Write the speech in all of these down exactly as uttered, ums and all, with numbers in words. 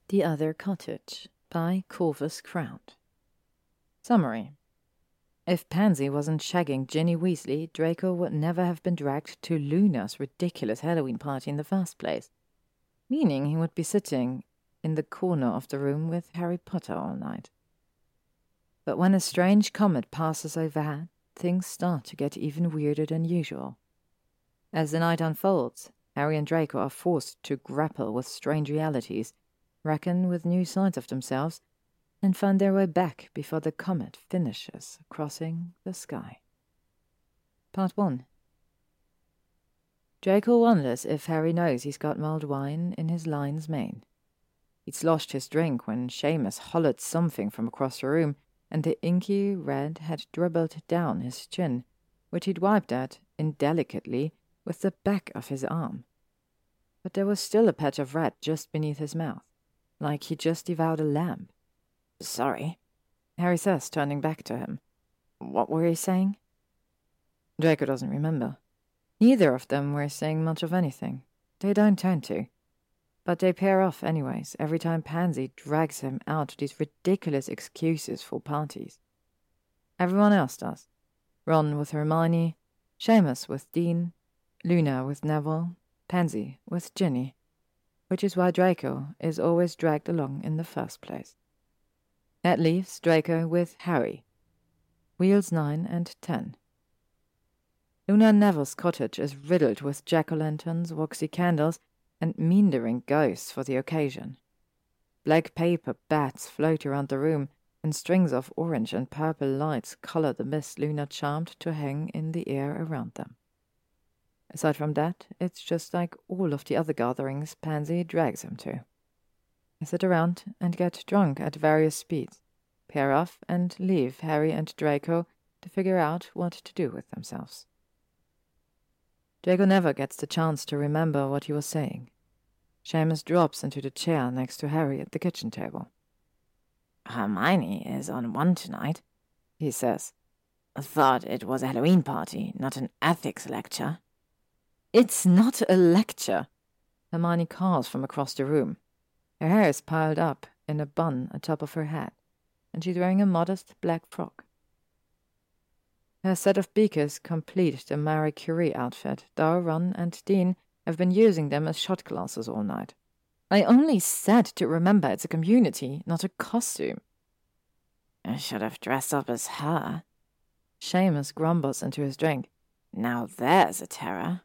The Other Cottage by Corvus Crout. Summary. If Pansy wasn't shagging Ginny Weasley, Draco would never have been dragged to Luna's ridiculous Halloween party in the first place, meaning he would be sitting in the corner of the room with Harry Potter all night. But when a strange comet passes overhead, things start to get even weirder than usual. As the night unfolds, Harry and Draco are forced to grapple with strange realities, reckon with new sides of themselves, and find their way back before the comet finishes crossing the sky. Part one. Draco wonders if Harry knows he's got mulled wine in his lion's mane. He'd sloshed his drink when Seamus hollered something from across the room, and the inky red had dribbled down his chin, which he'd wiped at, indelicately, with the back of his arm. But there was still a patch of red just beneath his mouth, like he just devoured a lamb. "Sorry," Harry says, turning back to him. "What were you saying?" Draco doesn't remember. Neither of them were saying much of anything. They don't tend to. But they pair off anyways, every time Pansy drags him out to these ridiculous excuses for parties. Everyone else does. Ron with Hermione, Seamus with Dean, Luna with Neville, Pansy with Ginny, which is why Draco is always dragged along in the first place. That leaves Draco with Harry. Wheels nine and ten. Luna and Neville's cottage is riddled with jack-o'-lanterns, waxy candles, and meandering ghosts for the occasion. Black paper bats float around the room, and strings of orange and purple lights color the mist Luna charmed to hang in the air around them. Aside from that, it's just like all of the other gatherings Pansy drags him to. They sit around and get drunk at various speeds, pair off and leave Harry and Draco to figure out what to do with themselves. Draco never gets the chance to remember what he was saying. Seamus drops into the chair next to Harry at the kitchen table. "Hermione is on one tonight," he says. "Thought it was a Halloween party, not an ethics lecture." "It's not a lecture," Hermione calls from across the room. Her hair is piled up in a bun atop of her head, and she's wearing a modest black frock. Her set of beakers complete the Marie Curie outfit, though Ron and Dean have been using them as shot glasses all night. "I only said to remember it's a community, not a costume." "I should have dressed up as her." Seamus grumbles into his drink. "Now there's a terror."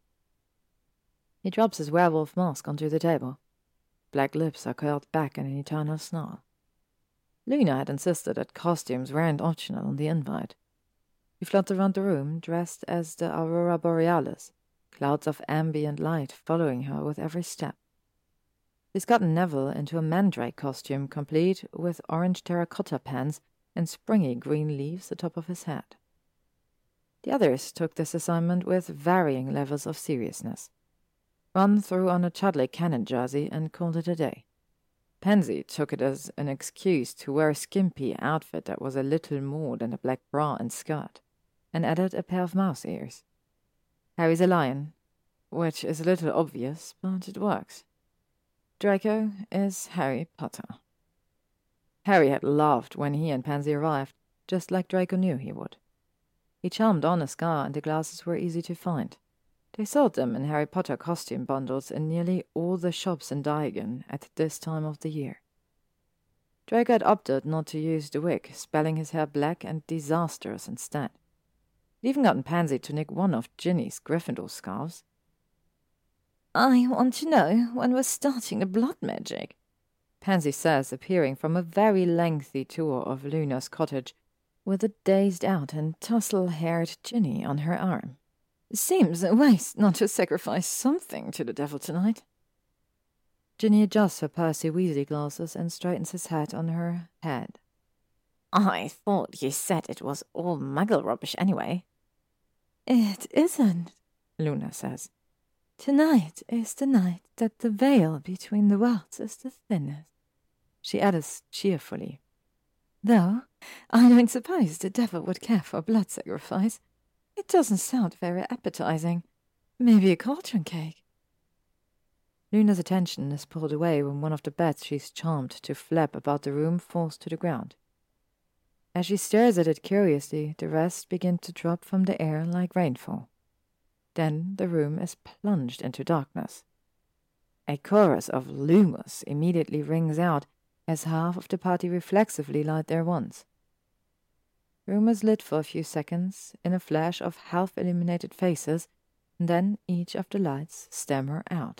He drops his werewolf mask onto the table. Black lips are curled back in an eternal snarl. Luna had insisted that costumes weren't optional on the invite. She fluttered around the room, dressed as the Aurora Borealis, clouds of ambient light following her with every step. She's gotten Neville into a mandrake costume, complete with orange terracotta pants and springy green leaves atop of his head. The others took this assignment with varying levels of seriousness. Ron threw on a Chudley Cannon jersey and called it a day. Pansy took it as an excuse to wear a skimpy outfit that was a little more than a black bra and skirt, and added a pair of mouse ears. Harry's a lion, which is a little obvious, but it works. Draco is Harry Potter. Harry had laughed when he and Pansy arrived, just like Draco knew he would. He charmed on a scar, and the glasses were easy to find. They sold them in Harry Potter costume bundles in nearly all the shops in Diagon at this time of the year. Draco had opted not to use the wig, spelling his hair black and disastrous instead. He'd even gotten Pansy to knit one of Ginny's Gryffindor scarves. "I want to know when we're starting the blood magic," Pansy says, appearing from a very lengthy tour of Luna's cottage, with a dazed-out and tussle-haired Ginny on her arm. "Seems a waste not to sacrifice something to the devil tonight." Ginny adjusts her Percy Weasley glasses and straightens his hat on her head. "I thought you said it was all muggle rubbish anyway." "It isn't," Luna says. "Tonight is the night that the veil between the worlds is the thinnest," she adds cheerfully. "Though I don't suppose the devil would care for blood sacrifice. It doesn't sound very appetizing. Maybe a cauldron cake." Luna's attention is pulled away when one of the bats she's charmed to flap about the room falls to the ground. As she stares at it curiously, the rest begin to drop from the air like rainfall. Then the room is plunged into darkness. A chorus of "Lumos" immediately rings out as half of the party reflexively light their wands. The room is lit for a few seconds in a flash of half-illuminated faces, and then each of the lights stammer out.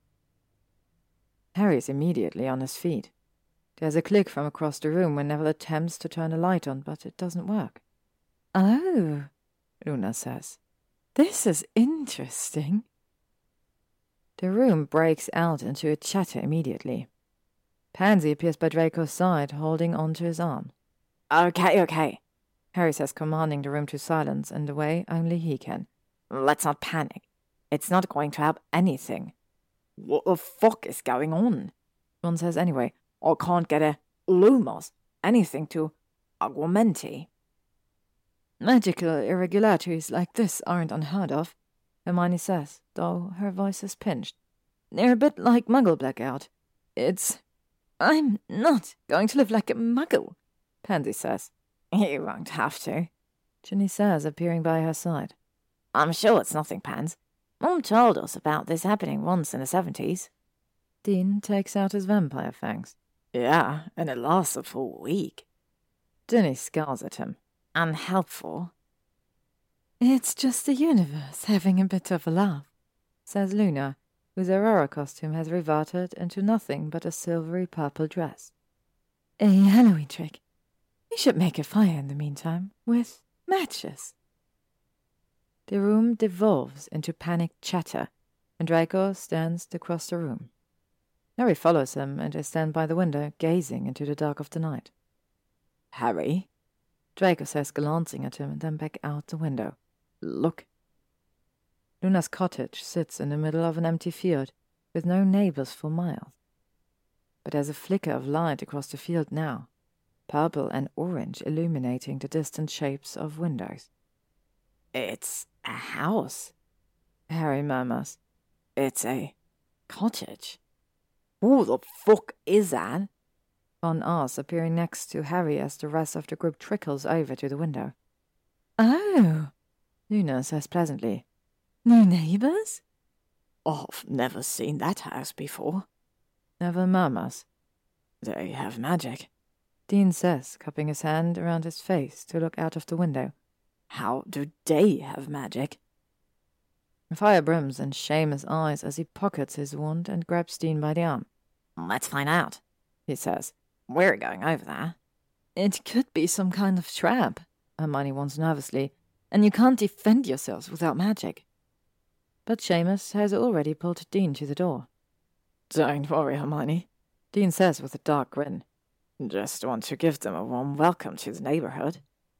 Harry is immediately on his feet. There's a click from across the room when Neville attempts to turn the light on, but it doesn't work. "Oh," Luna says. "This is interesting." The room breaks out into a chatter immediately. Pansy appears by Draco's side, holding onto his arm. "Okay, okay," Harry says, commanding the room to silence in the way only he can. "Let's not panic. It's not going to help anything." "What the fuck is going on?" Ron says anyway. "I can't get a Lumos, anything to Aguamenti." "Magical irregularities like this aren't unheard of," Hermione says, though her voice is pinched. "They're a bit like Muggle blackout. It's... I'm not going to live like a Muggle," Pansy says. "You won't have to," Ginny says, appearing by her side. "I'm sure it's nothing, Pans. Mom told us about this happening once in the seventies. Dean takes out his vampire fangs. "Yeah, and it lasted for a week." Ginny scowls at him. "Unhelpful." "It's just the universe having a bit of a laugh," says Luna, whose Aurora costume has reverted into nothing but a silvery purple dress. "A Halloween trick. We should make a fire in the meantime, with matches." The room devolves into panicked chatter, and Draco stands across the room. Harry follows him, and they stand by the window, gazing into the dark of the night. "Harry," Draco says, glancing at him and then back out the window. "Look." Luna's cottage sits in the middle of an empty field, with no neighbors for miles. But there's a flicker of light across the field now, purple and orange illuminating the distant shapes of windows. "It's a house," Harry murmurs. "It's a cottage." "Who the fuck is that?" Ron asks, appearing next to Harry as the rest of the group trickles over to the window. "Oh," Luna says pleasantly. "New neighbors?" "I've never seen that house before," Neville murmurs. "They have magic," Dean says, cupping his hand around his face to look out of the window. "How do they have magic?" Fire brims in Seamus' eyes as he pockets his wand and grabs Dean by the arm. "Let's find out," he says. "We're going over there." "It could be some kind of trap," Hermione warns nervously, "and you can't defend yourselves without magic." But Seamus has already pulled Dean to the door. "Don't worry, Hermione," Dean says with a dark grin. "Just want to give them a warm welcome to the neighborhood."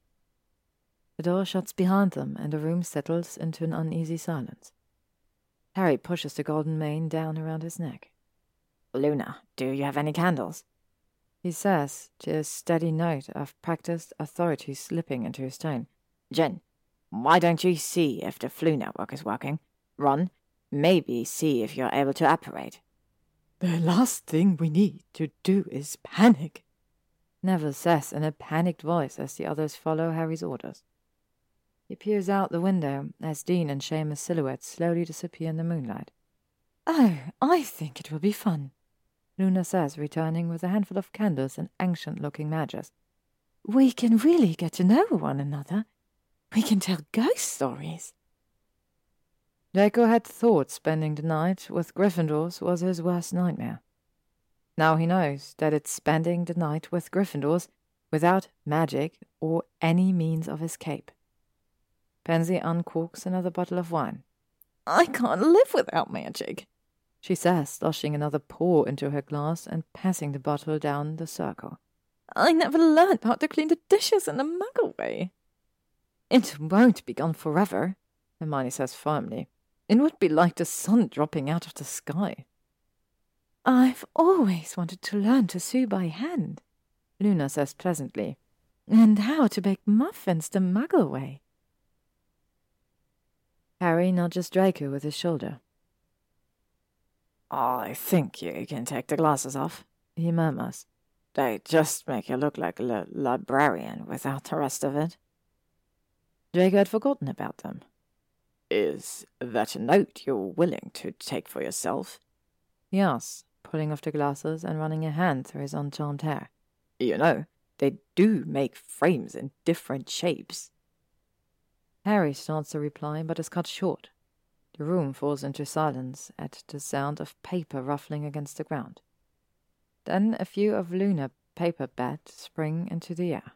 The door shuts behind them, and the room settles into an uneasy silence. Harry pushes the golden mane down around his neck. "Luna, do you have any candles?" he says, the steady note of practiced authority slipping into his tone. "Jen, why don't you see if the Floo network is working? Ron, maybe see if you're able to apparate." "The last thing we need to do is panic," Neville says in a panicked voice as the others follow Harry's orders. He peers out the window as Dean and Seamus' silhouettes slowly disappear in the moonlight. "Oh, I think it will be fun," Luna says, returning with a handful of candles and ancient-looking matches. "We can really get to know one another. We can tell ghost stories." Draco had thought spending the night with Gryffindors was his worst nightmare. Now he knows that it's spending the night with Gryffindors without magic or any means of escape. Pansy uncorks another bottle of wine. "I can't live without magic," she says, sloshing another pour into her glass and passing the bottle down the circle. "I never learned how to clean the dishes in the Muggle way." "It won't be gone forever," Hermione says firmly. "It would be like the sun dropping out of the sky." "I've always wanted to learn to sew by hand," Luna says pleasantly, "and how to bake muffins the Muggle way." Harry nudges Draco with his shoulder. I think you can take the glasses off, he murmurs. They just make you look like a li- librarian without the rest of it. Draco had forgotten about them. Is that a note you're willing to take for yourself? He asks, pulling off the glasses and running a hand through his uncharmed hair. You know, they do make frames in different shapes. Harry starts to reply, but is cut short. The room falls into silence at the sound of paper ruffling against the ground. Then a few of Luna paper bats spring into the air.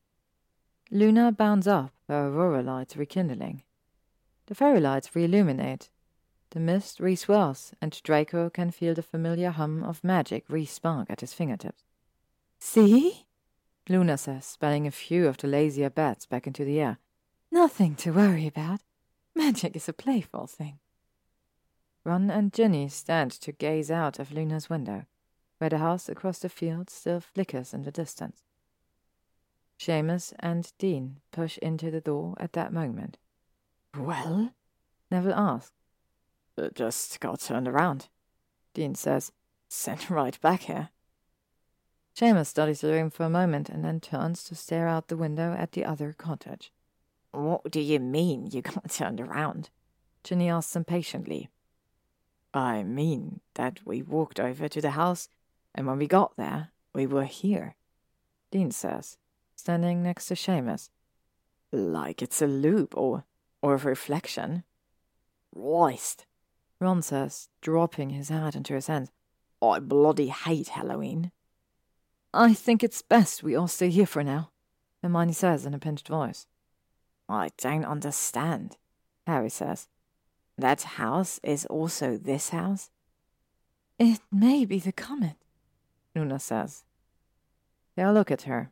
Luna bounds up, her aurora lights rekindling. The fairy lights re-illuminate. The mist re-swirls, and Draco can feel the familiar hum of magic re-spark at his fingertips. See? Luna says, spelling a few of the lazier bats back into the air. Nothing to worry about. Magic is a playful thing. Ron and Ginny stand to gaze out of Luna's window, where the house across the field still flickers in the distance. Seamus and Dean push into the door at that moment. Well? Neville asks. Uh, just got turned around, Dean says. Sent right back here. Seamus studies the room for a moment and then turns to stare out the window at the other cottage. What do you mean you got turned around? Ginny asks impatiently. I mean that we walked over to the house, and when we got there, we were here, Dean says, standing next to Seamus. Like it's a loop or, or a reflection. Christ, Ron says, dropping his hat into his hands. I bloody hate Halloween. I think it's best we all stay here for now, Hermione says in a pinched voice. I don't understand, Harry says. That house is also this house? It may be the comet, Luna says. They all look at her.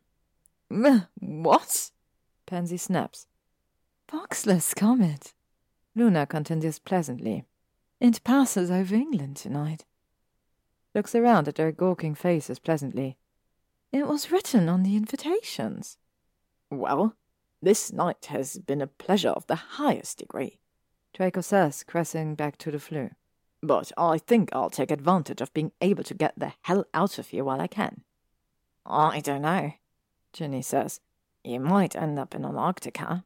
What? Pansy snaps. Foxless comet, Luna continues pleasantly. It passes over England tonight. Looks around at their gawking faces pleasantly. It was written on the invitations. Well, this night has been a pleasure of the highest degree, Draco says, crashing back to the Floo. But I think I'll take advantage of being able to get the hell out of here while I can. I don't know, Ginny says. You might end up in Antarctica.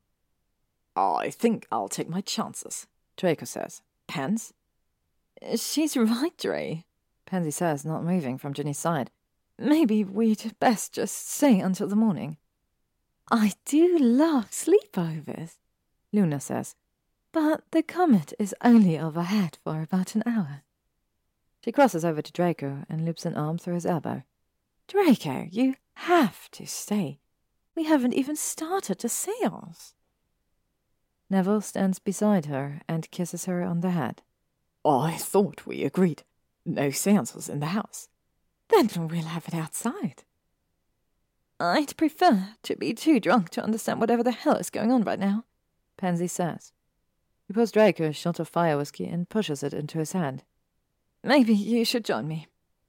I think I'll take my chances, Draco says. Pens? She's right, Dre, Pansy says, not moving from Ginny's side. Maybe we'd best just stay until the morning. I do love sleepovers, Luna says, but the comet is only overhead for about an hour. She crosses over to Draco and loops an arm through his elbow. Draco, you have to stay. We haven't even started the seance. Neville stands beside her and kisses her on the head. I thought we agreed. No seances in the house. Then we'll have it outside. I'd prefer to be too drunk to understand whatever the hell is going on right now, Pansy says. He pours Draco a shot of fire whiskey and pushes it into his hand. Maybe you should join me.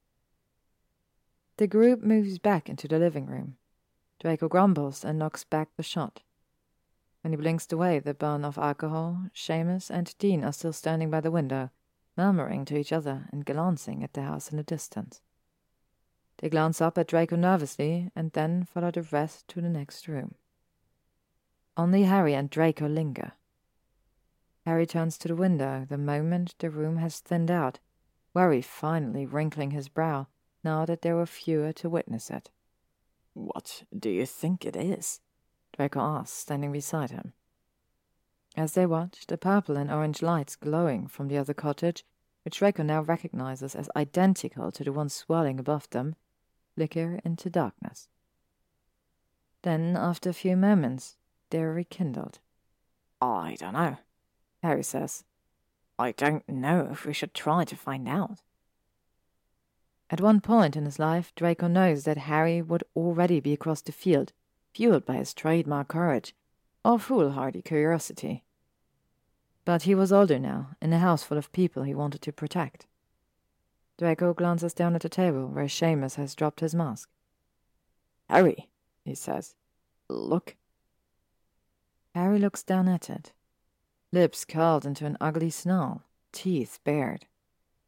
The group moves back into the living room. Draco grumbles and knocks back the shot. When he blinks away the burn of alcohol, Seamus and Dean are still standing by the window, murmuring to each other and glancing at the house in the distance. They glance up at Draco nervously and then follow the rest to the next room. Only Harry and Draco linger. Harry turns to the window the moment the room has thinned out, worry finally wrinkling his brow now that there were fewer to witness it. What do you think it is? Draco asks, standing beside him. As they watch, the purple and orange lights glowing from the other cottage, which Draco now recognizes as identical to the one swirling above them, flicker into darkness. Then, after a few moments, they are rekindled. I don't know, Harry says. I don't know if we should try to find out. At one point in his life, Draco knows that Harry would already be across the field, fueled by his trademark courage, or foolhardy curiosity. But he was older now, in a house full of people he wanted to protect. Draco glances down at the table where Seamus has dropped his mask. Harry, he says, look. Harry looks down at it. Lips curled into an ugly snarl, teeth bared.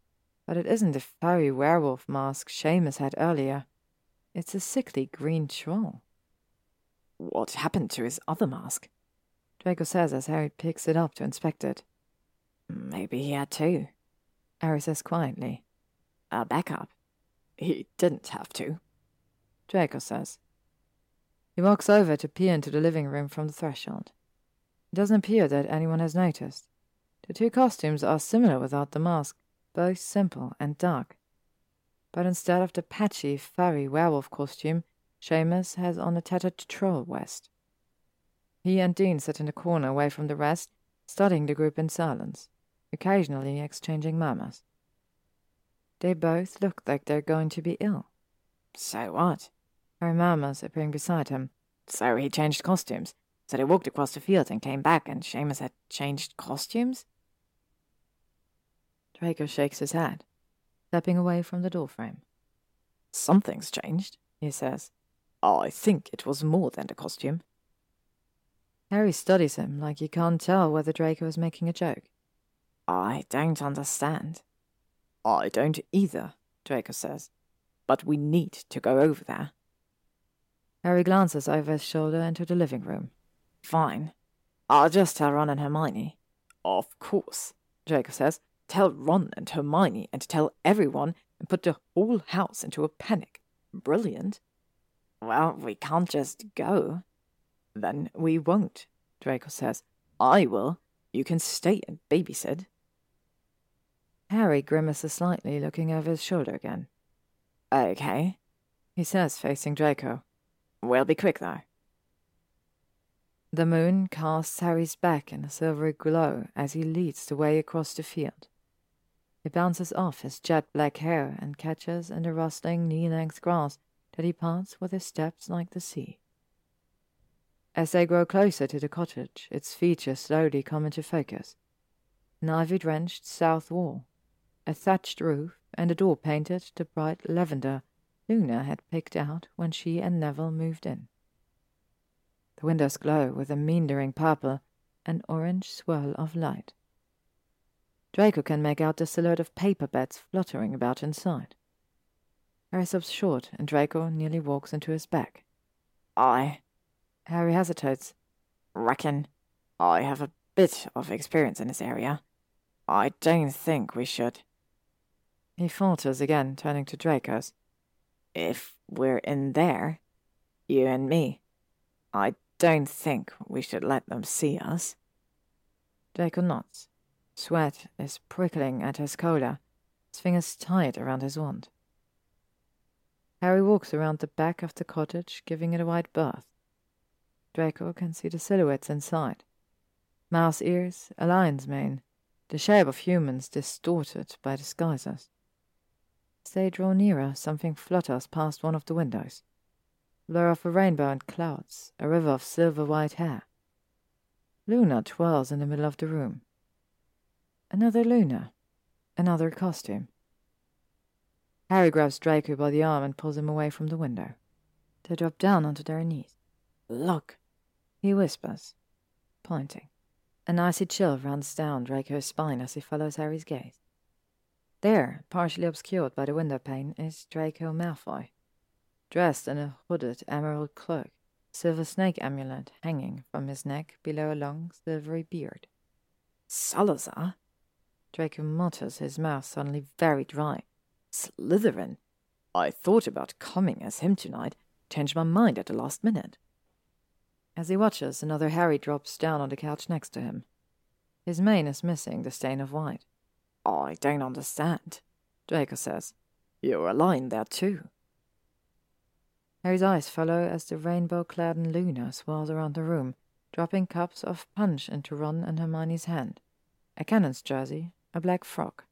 But it isn't the furry werewolf mask Seamus had earlier. It's a sickly green troll. What happened to his other mask? Draco says as Harry picks it up to inspect it. Maybe he had two, Harry says quietly. A backup. He didn't have to, Draco says. He walks over to peer into the living room from the threshold. It doesn't appear that anyone has noticed. The two costumes are similar without the mask, both simple and dark. But instead of the patchy, furry werewolf costume, Seamus has on a tattered troll vest. He and Dean sit in the corner away from the rest, studying the group in silence, occasionally exchanging murmurs. They both look like they're going to be ill. So what? Harry murmurs, appearing beside him. So he changed costumes. So they walked across the field and came back, and Seamus had changed costumes? Draco shakes his head, stepping away from the doorframe. Something's changed, he says. I think it was more than the costume. Harry studies him like he can't tell whether Draco is making a joke. I don't understand. I don't either, Draco says. But we need to go over there. Harry glances over his shoulder into the living room. Fine. I'll just tell Ron and Hermione. Of course, Draco says. Tell Ron and Hermione and tell everyone and put the whole house into a panic. Brilliant. Well, we can't just go. Then we won't, Draco says. I will. You can stay and babysit. Harry grimaces slightly, looking over his shoulder again. Okay, he says, facing Draco. We'll be quick, though. The moon casts Harry's back in a silvery glow as he leads the way across the field. It bounces off his jet-black hair and catches in the rustling knee-length grass that he parts with his steps like the sea. As they grow closer to the cottage, its features slowly come into focus. An ivy-drenched south wall, a thatched roof, and a door painted the bright lavender Luna had picked out when she and Neville moved in. The windows glow with a meandering purple and orange swirl of light. Draco can make out the silhouette of paper beds fluttering about inside. Harry stops short, and Draco nearly walks into his back. I... Harry hesitates. Reckon I have a bit of experience in this area. I don't think we should... He falters again, turning to Draco's. If we're in there, you and me, I don't think we should let them see us. Draco nods. Sweat is prickling at his collar, his fingers tight around his wand. Harry walks around the back of the cottage, giving it a wide berth. Draco can see the silhouettes inside. Mouse ears, a lion's mane, the shape of humans distorted by disguises. As they draw nearer, something flutters past one of the windows. Blur of a rainbow and clouds, a river of silver-white hair. Luna twirls in the middle of the room. Another Luna. Another costume. Harry grabs Draco by the arm and pulls him away from the window. They drop down onto their knees. Look, he whispers, pointing. An icy chill runs down Draco's spine as he follows Harry's gaze. There, partially obscured by the window pane, is Draco Malfoy, dressed in a hooded emerald cloak, a silver snake amulet hanging from his neck below a long silvery beard. Salazar? Draco mutters, his mouth suddenly very dry. Slytherin? I thought about coming as him tonight, changed my mind at the last minute. As he watches, another Harry drops down on the couch next to him. His mane is missing the stain of white. I don't understand, Draco says. You're a lion there too. Harry's eyes follow as the rainbow-clad Luna swirls around the room, dropping cups of punch into Ron and Hermione's hand. A cannon's jersey, a black frock.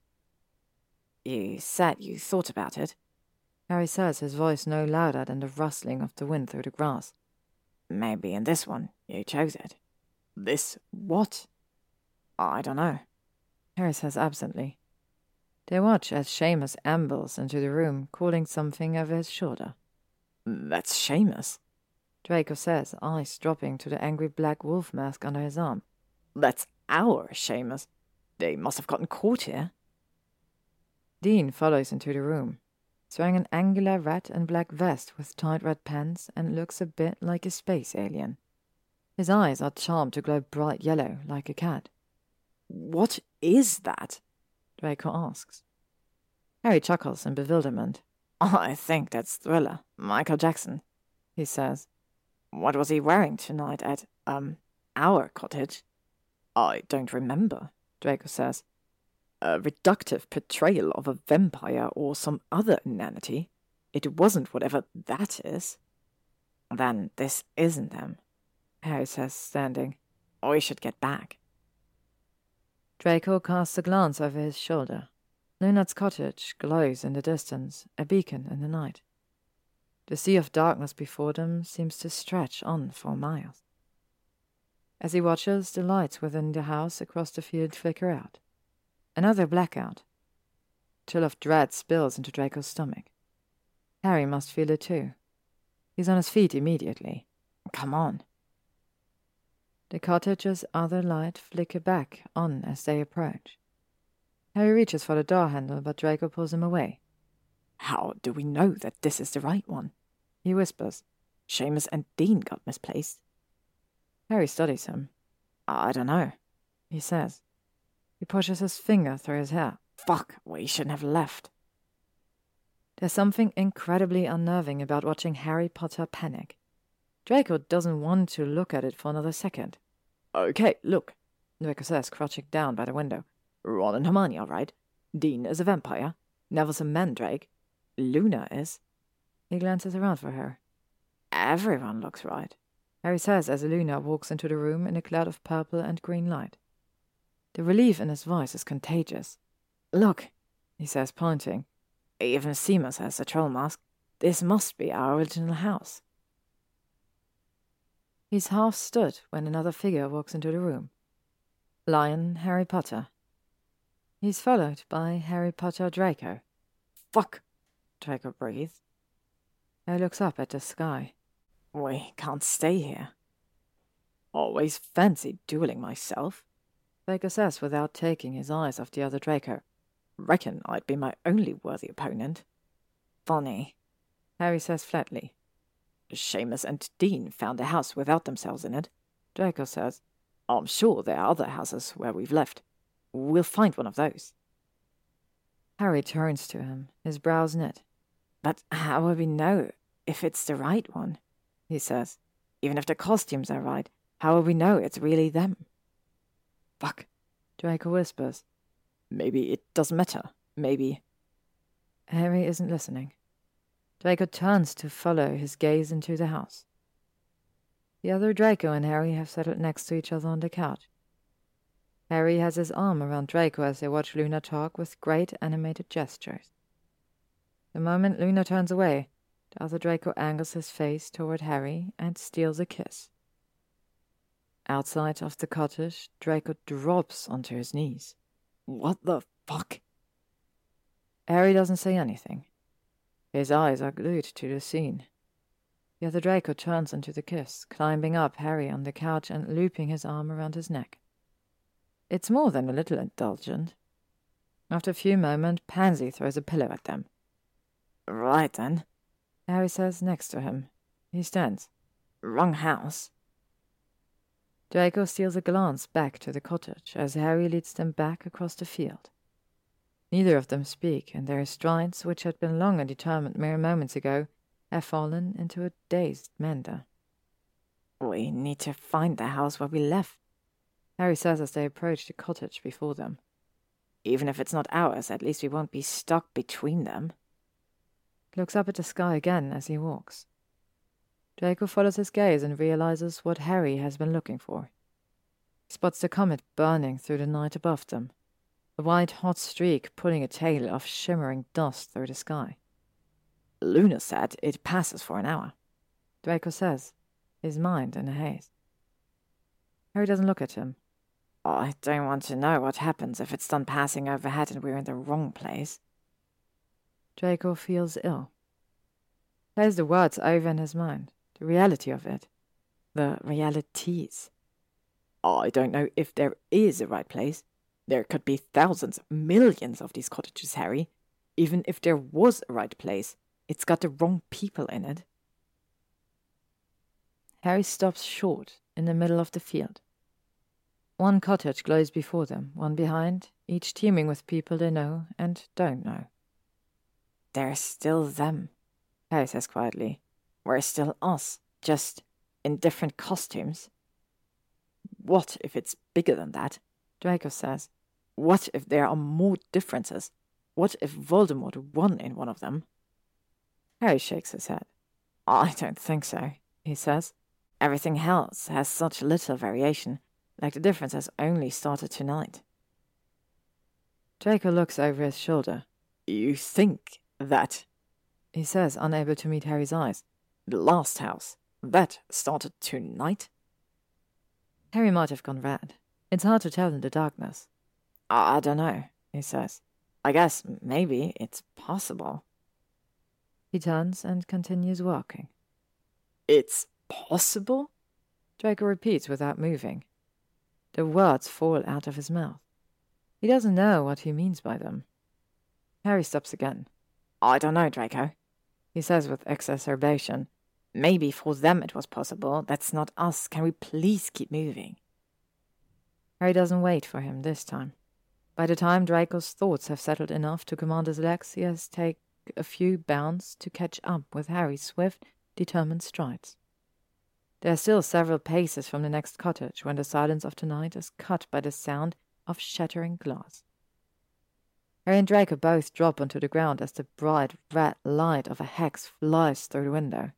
You said you thought about it, Harry says, his voice no louder than the rustling of the wind through the grass. Maybe in this one you chose it. This what? I don't know, Harry says absently. They watch as Seamus ambles into the room, calling something over his shoulder. That's Seamus, Draco says, eyes dropping to the angry black wolf mask under his arm. That's our Seamus. They must have gotten caught here. Dean follows into the room. He's wearing an angular red and black vest with tight red pants and looks a bit like a space alien. His eyes are charmed to glow bright yellow, like a cat. "What is that?" Draco asks. Harry chuckles in bewilderment. "I think that's Thriller, Michael Jackson," he says. "What was he wearing tonight at, um, our cottage?" "I don't remember," Draco says. "A reductive portrayal of a vampire or some other inanity. It wasn't whatever that is." "Then this isn't them," Harry says, standing. "We should get back." Draco casts a glance over his shoulder. Lunard's cottage glows in the distance, a beacon in the night. The sea of darkness before them seems to stretch on for miles. As he watches, the lights within the house across the field flicker out. Another blackout. A chill of dread spills into Draco's stomach. Harry must feel it too. He's on his feet immediately. "Come on." The cottage's other light flicker back on as they approach. Harry reaches for the door handle, but Draco pulls him away. "How do we know that this is the right one?" he whispers. "Seamus and Dean got misplaced." Harry studies him. "I don't know," he says. He pushes his finger through his hair. "Fuck, we shouldn't have left." There's something incredibly unnerving about watching Harry Potter panic. Draco doesn't want to look at it for another second. "Okay, look," Draco says, crouching down by the window. "Ron and Hermione are right. Dean is a vampire. Neville's a mandrake. Luna is." He glances around for her. "Everyone looks right," Harry says as Luna walks into the room in a cloud of purple and green light. The relief in his voice is contagious. "Look," he says, pointing. "Even Seamus has a troll mask. This must be our original house." He's half stood when another figure walks into the room. Lion Harry Potter. He's followed by Harry Potter Draco. "Fuck," Draco breathes. Harry looks up at the sky. "We can't stay here." "Always fancied dueling myself," Draco says without taking his eyes off the other Draco. "Reckon I'd be my only worthy opponent." "Funny," Harry says flatly. "Seamus and Dean found a house without themselves in it," Draco says. "I'm sure there are other houses where we've left. We'll find one of those." Harry turns to him, his brows knit. "But how will we know if it's the right one?" he says. "Even if the costumes are right, how will we know it's really them?" "Fuck," Draco whispers. "Maybe it doesn't matter. Maybe—" Harry isn't listening. Draco turns to follow his gaze into the house. The other Draco and Harry have settled next to each other on the couch. Harry has his arm around Draco as they watch Luna talk with great animated gestures. The moment Luna turns away, the other Draco angles his face toward Harry and steals a kiss. Outside of the cottage, Draco drops onto his knees. "What the fuck?" Harry doesn't say anything. His eyes are glued to the scene. The other Draco turns into the kiss, climbing up Harry on the couch and looping his arm around his neck. It's more than a little indulgent. After a few moments, Pansy throws a pillow at them. "Right then," Harry says next to him. He stands. "Wrong house." Draco steals a glance back to the cottage as Harry leads them back across the field. Neither of them speak, and their strides, which had been long and determined mere moments ago, have fallen into a dazed meander. "We need to find the house where we left," Harry says as they approach the cottage before them. "Even if it's not ours, at least we won't be stuck between them." He looks up at the sky again as he walks. Draco follows his gaze and realizes what Harry has been looking for. He spots the comet burning through the night above them, a white hot streak pulling a tail of shimmering dust through the sky. "Luna said it passes for an hour," Draco says, his mind in a haze. Harry doesn't look at him. "I don't want to know what happens if it's done passing overhead and we're in the wrong place." Draco feels ill. Plays the words over in his mind, the reality of it. The realities. "I don't know if there is a right place. There could be thousands, millions of these cottages, Harry. Even if there was a right place, it's got the wrong people in it. Harry stops short in the middle of the field. One cottage glows before them, one behind, each teeming with people they know and don't know. They're still them, Harry says quietly. We're still us, just in different costumes. What if it's bigger than that? Draco says. What if there are more differences? What if Voldemort won in one of them? Harry shakes his head. I don't think so, he says. Everything else has such little variation, like the difference has only started tonight. Draco looks over his shoulder. You think that, he says, unable to meet Harry's eyes. The last house, that started tonight? Harry might have gone red. It's hard to tell in the darkness. I don't know, he says. I guess maybe it's possible. He turns and continues walking. It's possible? Draco repeats without moving. The words fall out of his mouth. He doesn't know what he means by them. Harry stops again. I don't know, Draco, he says with exacerbation. Maybe for them it was possible. That's not us. Can we please keep moving? Harry doesn't wait for him this time. By the time Draco's thoughts have settled enough to command his legs, he has taken a few bounds to catch up with Harry's swift, determined strides. They are still several paces from the next cottage when the silence of the night is cut by the sound of shattering glass. Harry and Draco both drop onto the ground as the bright red light of a hex flies through the window.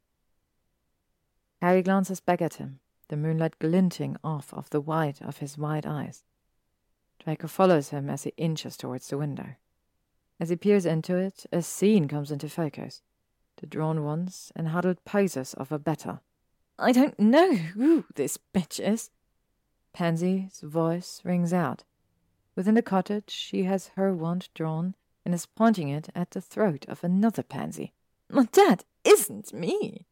Harry glances back at him, the moonlight glinting off of the white of his wide eyes. Draco follows him as he inches towards the window. As he peers into it, a scene comes into focus. The drawn ones and huddled poses of a better. I don't know who this bitch is. Pansy's voice rings out. Within the cottage, she has her wand drawn and is pointing it at the throat of another pansy. That isn't me.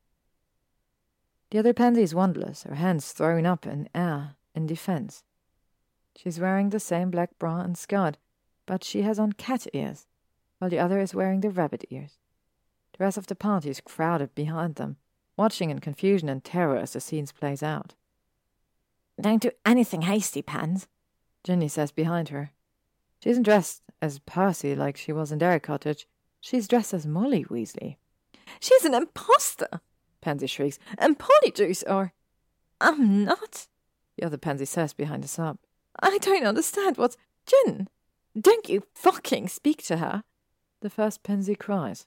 The other pansy is wandless, her hands thrown up in air in defense. She's wearing the same black bra and skirt, but she has on cat ears, while the other is wearing the rabbit ears. The rest of the party is crowded behind them, watching in confusion and terror as the scene plays out. Don't do anything hasty, Pans, Ginny says behind her. She isn't dressed as Percy like she was in their cottage. She's dressed as Molly Weasley. She's an imposter, Pansy shrieks, and Polyjuice are... I'm not, the other Pansy says behind a sob. I don't understand what's... Gin, don't you fucking speak to her, the first Pansy cries.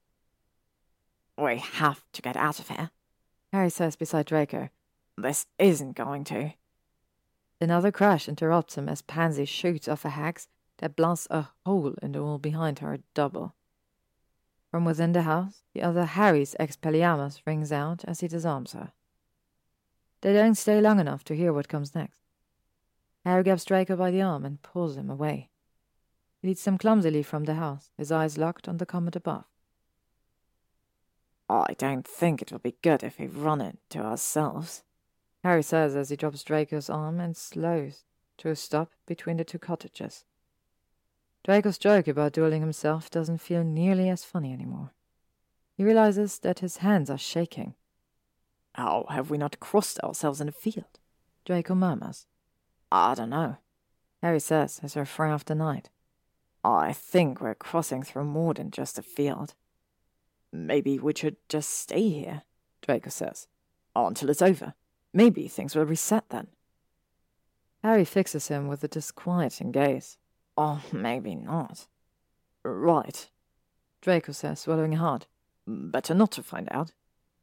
We have to get out of here, Harry says beside Draco. This isn't going to. Another crash interrupts him as Pansy shoots off a hex that blasts a hole in the wall behind her double. From within the house, the other Harry's Expelliarmus rings out as he disarms her. They don't stay long enough to hear what comes next. Harry grabs Draco by the arm and pulls him away. He leads them clumsily from the house, his eyes locked on the comet above. I don't think it will be good if we run it to ourselves, Harry says as he drops Draco's arm and slows to a stop between the two cottages. Draco's joke about dueling himself doesn't feel nearly as funny anymore. He realizes that his hands are shaking. How have we not crossed ourselves in the field? Draco murmurs. I don't know, Harry says as they fray off the night. I think we're crossing through more than just a field. Maybe we should just stay here, Draco says, until it's over. Maybe things will reset then. Harry fixes him with a disquieting gaze. Or maybe not. Right, Draco says, swallowing hard. Better not to find out.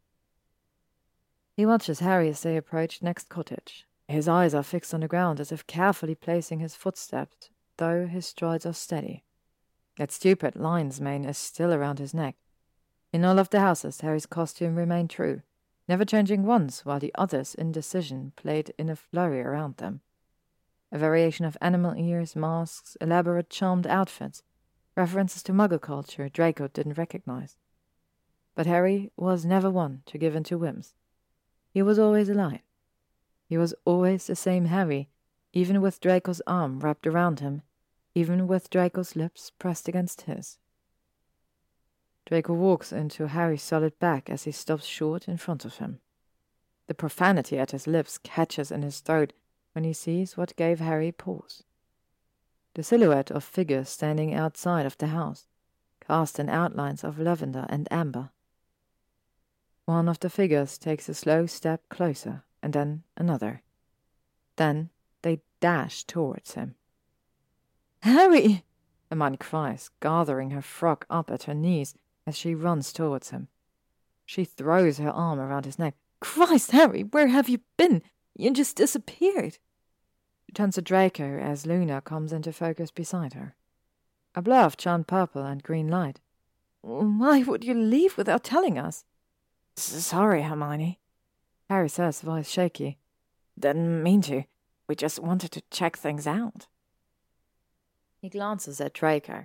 He watches Harry as they approach next cottage. His eyes are fixed on the ground as if carefully placing his footsteps, though his strides are steady. That stupid lion's mane is still around his neck. In all of the houses, Harry's costume remained true, never changing once while the others' indecision played in a flurry around them. A variation of animal ears, masks, elaborate charmed outfits, references to Muggle culture Draco didn't recognize. But Harry was never one to give in to whims. He was always a lion. He was always the same Harry, even with Draco's arm wrapped around him, even with Draco's lips pressed against his. Draco walks into Harry's solid back as he stops short in front of him. The profanity at his lips catches in his throat when he sees what gave Harry pause. The silhouette of figures standing outside of the house, cast in outlines of lavender and amber. One of the figures takes a slow step closer, and then another. Then they dash towards him. "Harry!" Hermione cries, gathering her frock up at her knees as she runs towards him. She throws her arm around his neck. "Christ, Harry, where have you been? You just disappeared." She turns to Draco as Luna comes into focus beside her. A blur of charmed purple and green light. "Why would you leave without telling us?" "Sorry, Hermione," Harry says, voice shaky. "Didn't mean to. We just wanted to check things out." He glances at Draco.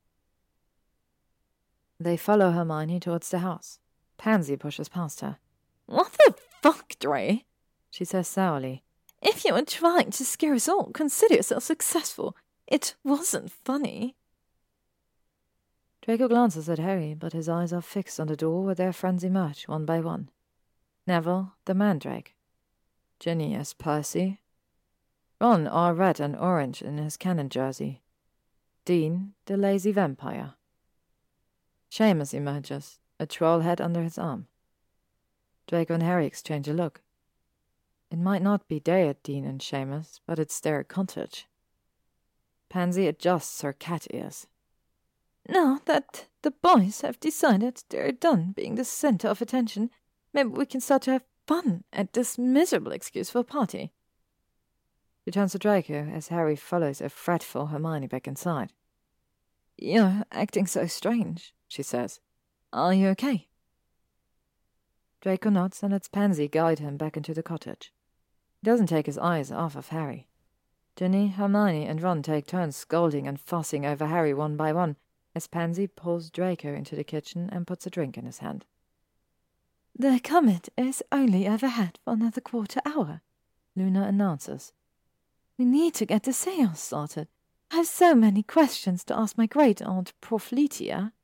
They follow Hermione towards the house. Pansy pushes past her. "What the fuck, Dre?" she says sourly. "If you were trying to scare us all, consider yourself successful. It wasn't funny." Draco glances at Harry, but his eyes are fixed on the door where their friends emerge one by one. Neville, the Mandrake. Ginny as Percy. Ron all red and orange in his cannon jersey. Dean, the lazy vampire. Seamus emerges, a troll head under his arm. Draco and Harry exchange a look. It might not be day at Dean and Seamus, but it's their cottage. Pansy adjusts her cat ears. "Now that the boys have decided they're done being the center of attention, maybe we can start to have fun at this miserable excuse for a party." She turns to Draco as Harry follows a fretful Hermione back inside. "You're acting so strange," she says. "Are you okay?" Draco nods and lets Pansy guide him back into the cottage. He doesn't take his eyes off of Harry. Ginny, Hermione, and Ron take turns scolding and fussing over Harry one by one as Pansy pulls Draco into the kitchen and puts a drink in his hand. "The comet is only overhead for another quarter hour," Luna announces. "We need to get the seance started. I have so many questions to ask my great-aunt Profletia."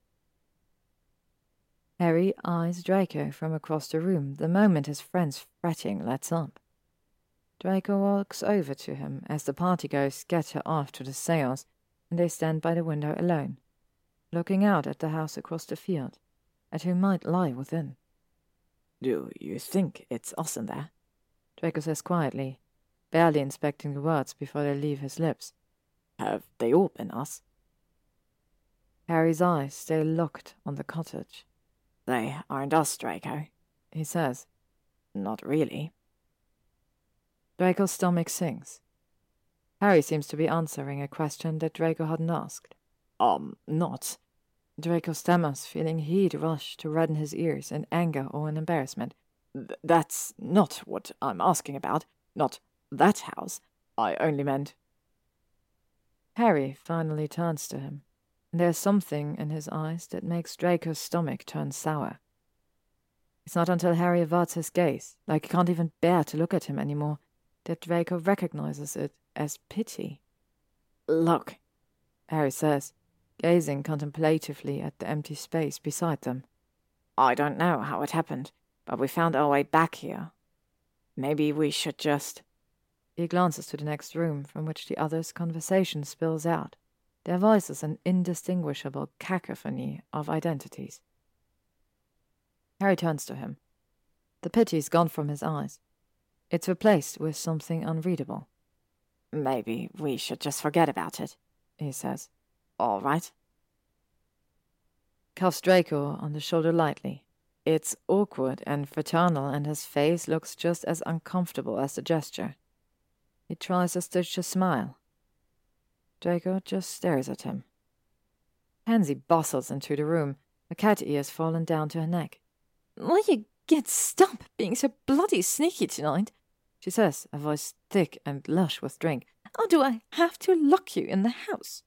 Harry eyes Draco from across the room the moment his friend's fretting lets up. Draco walks over to him as the partygoers scatter off to the seance, and they stand by the window alone, looking out at the house across the field, at who might lie within. "Do you think it's us in there?" Draco says quietly, barely inspecting the words before they leave his lips. "Have they all been us?" Harry's eyes stay locked on the cottage. "They aren't us, Draco," he says. "Not really." Draco's stomach sinks. Harry seems to be answering a question that Draco hadn't asked. Um, not. Draco stammers, feeling heat rush to redden his ears in anger or in embarrassment. Th- that's not what I'm asking about. Not that house. I only meant... Harry finally turns to him, and there's something in his eyes that makes Draco's stomach turn sour. It's not until Harry averts his gaze, like he can't even bear to look at him anymore, that Draco recognizes it as pity. "Look," Harry says, gazing contemplatively at the empty space beside them. "I don't know how it happened, but we found our way back here. Maybe we should just..." He glances to the next room, from which the others' conversation spills out, their voices an indistinguishable cacophony of identities. Harry turns to him. The pity's gone from his eyes. It's replaced with something unreadable. "Maybe we should just forget about it," he says. "All right." Cuffs Draco on the shoulder lightly. It's awkward and fraternal, and his face looks just as uncomfortable as the gesture. He tries to stitch a smile. Draco just stares at him. Pansy bustles into the room, her cat ears fallen down to her neck. "Will you get stop being so bloody sneaky tonight?" she says, a voice thick and lush with drink. "Or do I have to lock you in the house?"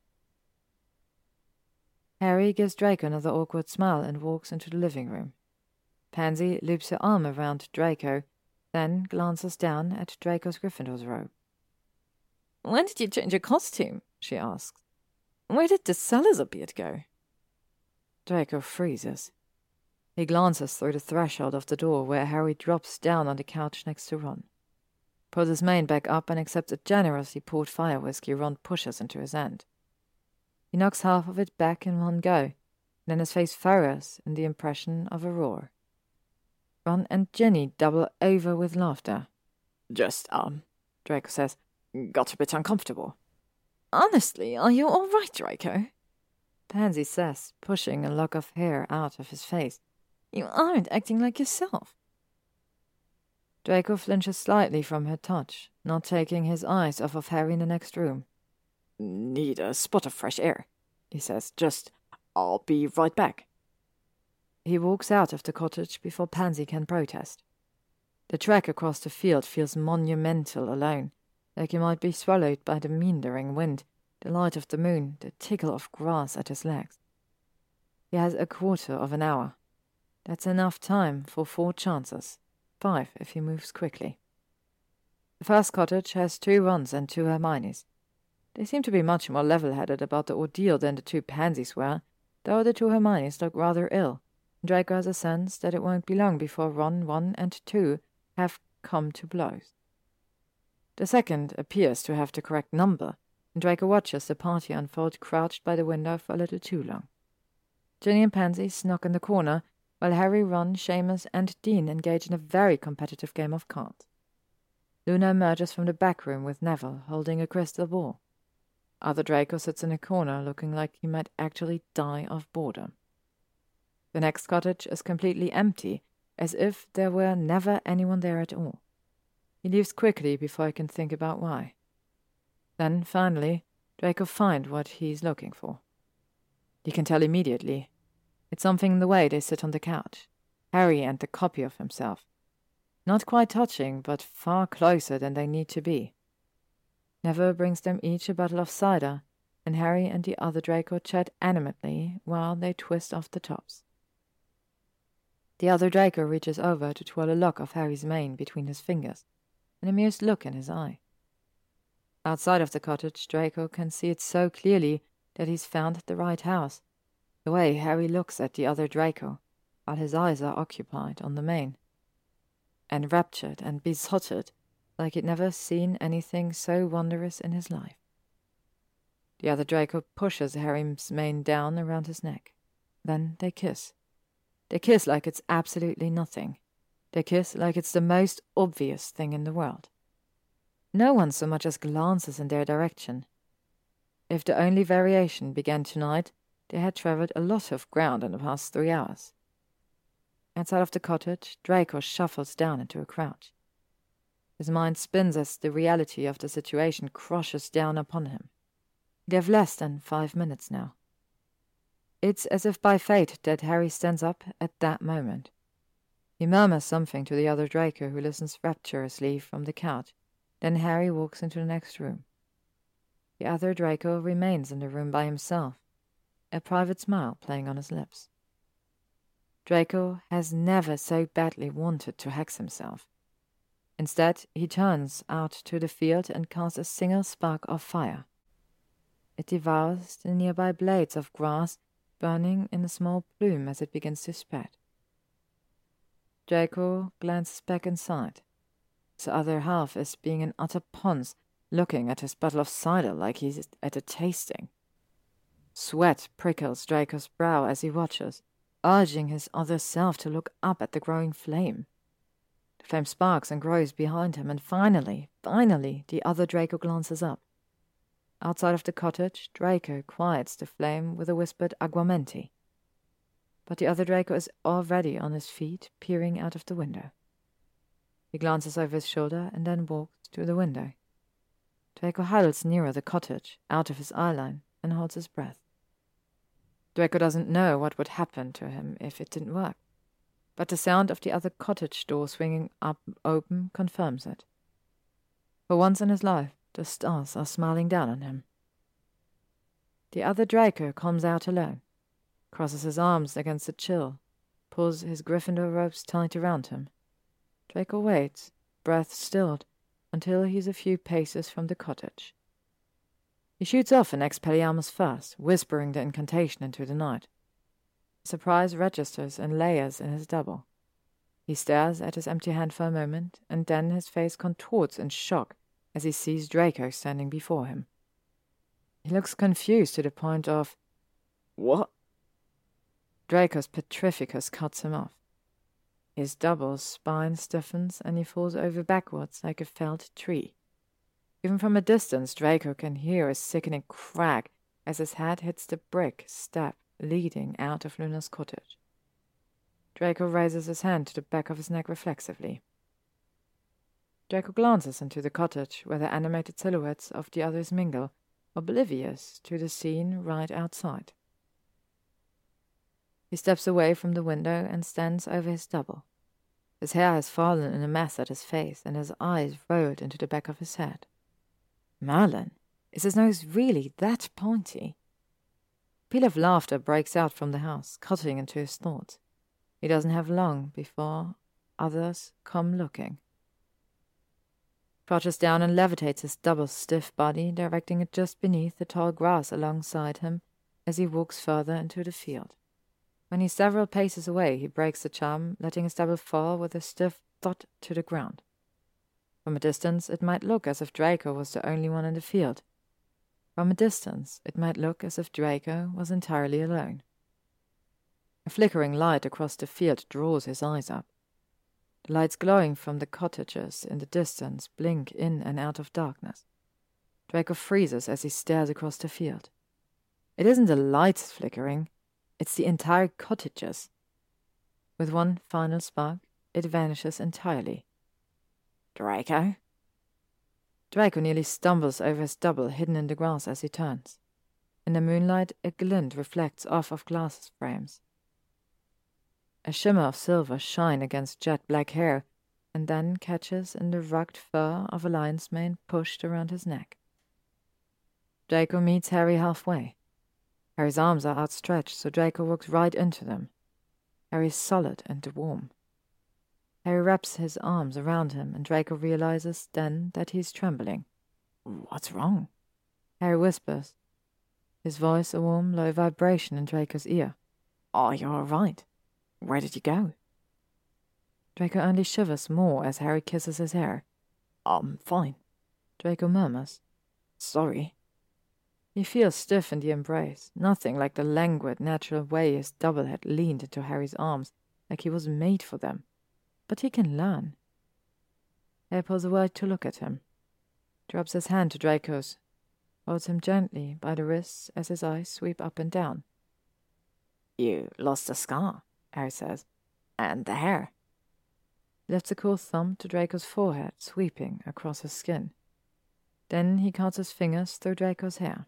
Harry gives Draco another awkward smile and walks into the living room. Pansy loops her arm around Draco, then glances down at Draco's Gryffindor's robe. "When did you change your costume?" she asks. "Where did the Salazar beard go?" Draco freezes. He glances through the threshold of the door where Harry drops down on the couch next to Ron, pulls his mane back up and accepts a generously poured fire whiskey Ron pushes into his hand. He knocks half of it back in one go, and then his face furrows in the impression of a roar. Ron and Ginny double over with laughter. Just, um, Draco says, got a bit uncomfortable. Honestly, are you all right, Draco? Pansy says, pushing a lock of hair out of his face. You aren't acting like yourself. Draco flinches slightly from her touch, not taking his eyes off of Harry in the next room. Need a spot of fresh air, he says. Just, I'll be right back. He walks out of the cottage before Pansy can protest. The trek across the field feels monumental alone, like he might be swallowed by the meandering wind, the light of the moon, the tickle of grass at his legs. He has a quarter of an hour. That's enough time for four chances, five if he moves quickly. The first cottage has two Rons and two Hermiones. They seem to be much more level-headed about the ordeal than the two Pansies were, though the two Hermiones look rather ill. Draco has a sense that it won't be long before Ron one and two have come to blows. The second appears to have the correct number, and Draco watches the party unfold crouched by the window for a little too long. Ginny and Pansy snock in the corner, while Harry, Ron, Seamus, and Dean engage in a very competitive game of cards. Luna emerges from the back room with Neville holding a crystal ball. Arthur Draco sits in a corner looking like he might actually die of boredom. The next cottage is completely empty, as if there were never anyone there at all. He leaves quickly before he can think about why. Then, finally, Draco finds what he's looking for. He can tell immediately. It's something in the way they sit on the couch, Harry and the copy of himself. Not quite touching, but far closer than they need to be. Neville brings them each a bottle of cider, and Harry and the other Draco chat animatedly while they twist off the tops. The other Draco reaches over to twirl a lock of Harry's mane between his fingers, an amused look in his eye. Outside of the cottage, Draco can see it so clearly that he's found the right house, the way Harry looks at the other Draco, while his eyes are occupied on the mane. Enraptured and besotted, like he'd never seen anything so wondrous in his life. The other Draco pushes Harry's mane down around his neck. Then they kiss. They kiss like it's absolutely nothing. They kiss like it's the most obvious thing in the world. No one so much as glances in their direction. If the only variation began tonight, they had travelled a lot of ground in the past three hours. Outside of the cottage, Draco shuffles down into a crouch. His mind spins as the reality of the situation crushes down upon him. They have less than five minutes now. It's as if by fate that Harry stands up at that moment. He murmurs something to the other Draco, who listens rapturously from the couch. Then Harry walks into the next room. The other Draco remains in the room by himself, a private smile playing on his lips. Draco has never so badly wanted to hex himself. Instead, he turns out to the field and casts a single spark of fire. It devours the nearby blades of grass, burning in a small plume as it begins to spread. Draco glances back inside. His other half is being an utter ponce, looking at his bottle of cider like he's at a tasting. Sweat prickles Draco's brow as he watches, urging his other self to look up at the growing flame. The flame sparks and grows behind him, and finally, finally, the other Draco glances up. Outside of the cottage, Draco quiets the flame with a whispered aguamenti. But the other Draco is already on his feet, peering out of the window. He glances over his shoulder and then walks to the window. Draco huddles nearer the cottage, out of his eye line, and holds his breath. Draco doesn't know what would happen to him if it didn't work, but the sound of the other cottage door swinging up open confirms it. For once in his life, the stars are smiling down on him. The other Draco comes out alone, crosses his arms against the chill, pulls his Gryffindor ropes tight around him. Draco waits, breath stilled, until he's a few paces from the cottage. He shoots off an Expelliarmus first, whispering the incantation into the night. Surprise registers in layers in his double. He stares at his empty hand for a moment, and then his face contorts in shock as he sees Draco standing before him. He looks confused to the point of, "What?" Draco's Petrificus cuts him off. His double's spine stiffens and he falls over backwards like a felled tree. Even from a distance, Draco can hear a sickening crack as his head hits the brick step leading out of Luna's cottage. Draco raises his hand to the back of his neck reflexively. Draco glances into the cottage where the animated silhouettes of the others mingle, oblivious to the scene right outside. He steps away from the window and stands over his double. His hair has fallen in a mess at his face, and his eyes rolled into the back of his head. Merlin, is his nose really that pointy? A peal of laughter breaks out from the house, cutting into his thoughts. He doesn't have long before others come looking. Crouches down and levitates his double's stiff body, directing it just beneath the tall grass alongside him as he walks further into the field. When he's several paces away, he breaks the charm, letting his double fall with a stiff thud to the ground. From a distance, it might look as if Draco was the only one in the field. From a distance, it might look as if Draco was entirely alone. A flickering light across the field draws his eyes up. The lights glowing from the cottages in the distance blink in and out of darkness. Draco freezes as he stares across the field. It isn't the lights flickering, it's the entire cottages. With one final spark, it vanishes entirely. "Draco?" Draco nearly stumbles over his double hidden in the grass as he turns. In the moonlight, a glint reflects off of glass frames. A shimmer of silver shine against jet black hair, and then catches in the rugged fur of a lion's mane pushed around his neck. Draco meets Harry halfway. Harry's arms are outstretched, so Draco walks right into them. Harry is solid and warm. Harry wraps his arms around him, and Draco realizes then that he's trembling. "What's wrong?" Harry whispers, his voice a warm, low vibration in Draco's ear. "Are you all right? Where did you go?" Draco only shivers more as Harry kisses his hair. "I'm fine," Draco murmurs. "Sorry." He feels stiff in the embrace, nothing like the languid, natural way his double had leaned into Harry's arms, like he was made for them. But he can learn. Harry pulls away to look at him, drops his hand to Draco's, holds him gently by the wrists as his eyes sweep up and down. "You lost the scar," Harry says, "and the hair." He lifts a cool thumb to Draco's forehead, sweeping across his skin. Then he cuts his fingers through Draco's hair.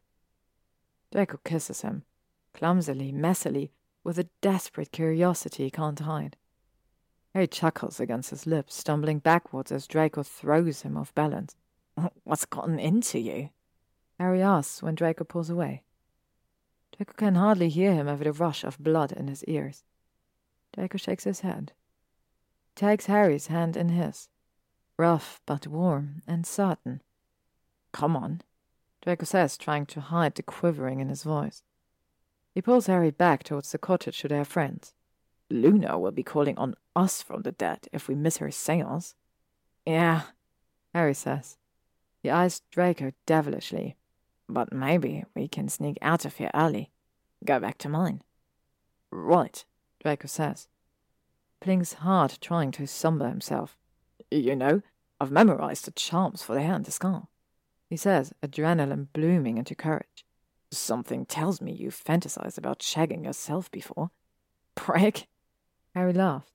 Draco kisses him, clumsily, messily, with a desperate curiosity he can't hide. Harry chuckles against his lips, stumbling backwards as Draco throws him off balance. "What's gotten into you?" Harry asks when Draco pulls away. Draco can hardly hear him over the rush of blood in his ears. Draco shakes his head. He takes Harry's hand in his, rough but warm and certain. "Come on," Draco says, trying to hide the quivering in his voice. He pulls Harry back towards the cottage to their friends. "Luna will be calling on us from the dead if we miss her seance." "Yeah," Harry says. He eyes Draco devilishly. "But maybe we can sneak out of here early. Go back to mine." "Right," Draco says. Blinks hard, trying to somber himself. "You know, I've memorized the charms for the hair and the scar," he says, adrenaline blooming into courage. "Something tells me you've fantasized about shagging yourself before." "Prick!" Harry laughs.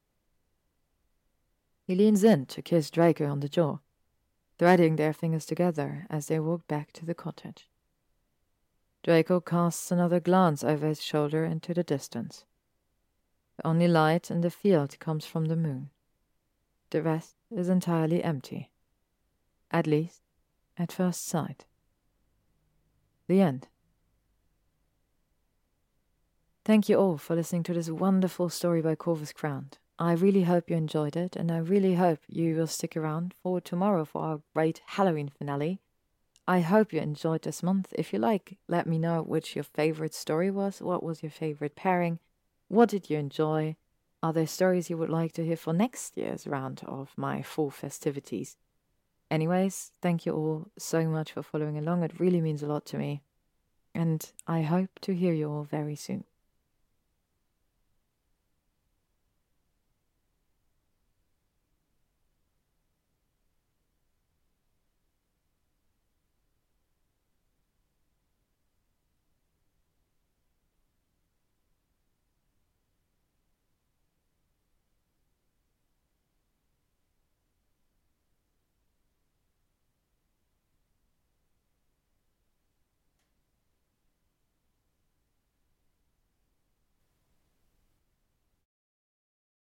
He leans in to kiss Draco on the jaw, threading their fingers together as they walk back to the cottage. Draco casts another glance over his shoulder into the distance. The only light in the field comes from the moon. The rest is entirely empty. At least, at first sight. The end. Thank you all for listening to this wonderful story by Corvus Crowned. I really hope you enjoyed it, and I really hope you will stick around for tomorrow for our great Halloween finale. I hope you enjoyed this month. If you like, let me know which your favorite story was, what was your favorite pairing, What did you enjoy? Are there stories you would like to hear for next year's round of my fall festivities? Anyways, thank you all so much for following along. It really means a lot to me. And I hope to hear you all very soon.